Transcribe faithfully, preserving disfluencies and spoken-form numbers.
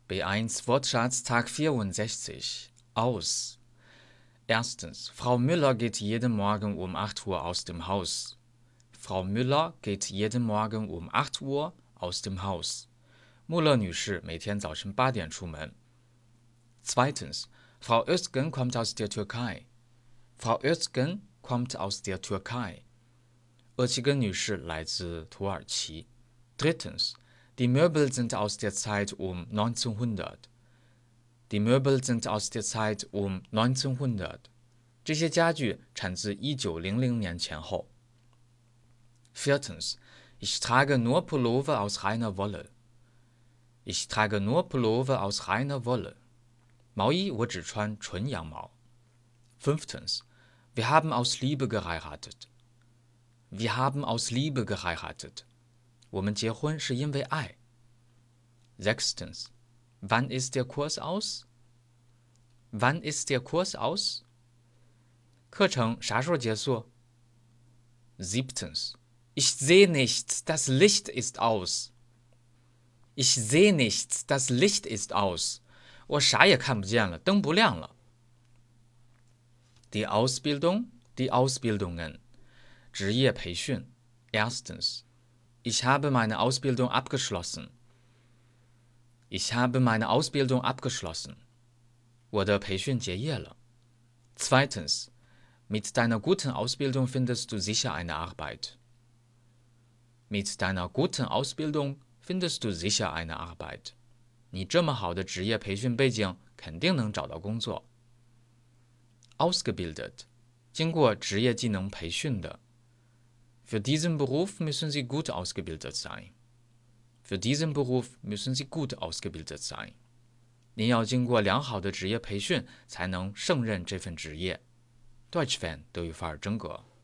B eins Wortschatz Tag vierundsechzig. Aus. Erstens. Frau Müller geht jeden Morgen um acht Uhr aus dem Haus. Frau Müller geht jeden Morgen um acht Uhr aus dem Haus. 穆勒女士每天早晨八点出门。Zweitens. Frau Özgen kommt aus der Türkei. Frau Özgen kommt aus der Türkei. 厄齐根女士来自土耳其。Drittens. Die Möbel sind aus der Zeit um neunzehnhundert. Die Möbel sind aus der Zeit um neunzehnhundert. 这些家具产自一九零零年前后。Viertens. Ich trage nur Pullover aus reiner Wolle. Ich trage nur Pullover aus reiner Wolle. 毛衣我只穿纯羊毛。Fünftens. Wir haben aus Liebe geheiratet. Wir haben aus Liebe geheiratet. 我们结婚是因为爱。Sechstens. Wann ist der Kurs aus? Wann ist der Kurs aus? 课程啥时候结束？ Siebtens. Ich sehe nichts, das Licht ist aus. Ich sehe nichts, das Licht ist aus. 我啥也看不见了，灯不亮了。Die Ausbildung, die Ausbildungen. 职业培训。Erstens. Ich habe meine Ausbildung abgeschlossen. Ich habe meine Ausbildung abgeschlossen. 我的培训结业了。Zweitens. Mit deiner guten Ausbildung findest du sicher eine Arbeit. Mit deiner guten Ausbildung findest du sicher eine Arbeit. 你这么好的职业培训背景，肯定能找到工作。Ausgebildet. 经过职业技能培训的。Für diesen Beruf müssen Sie gut ausgebildet sein. Für diesen Beruf müssen Sie gut ausgebildet sein. 您要经过良好的职业培训，才能胜任这份职业。Deutsch Fan 德语范儿真格。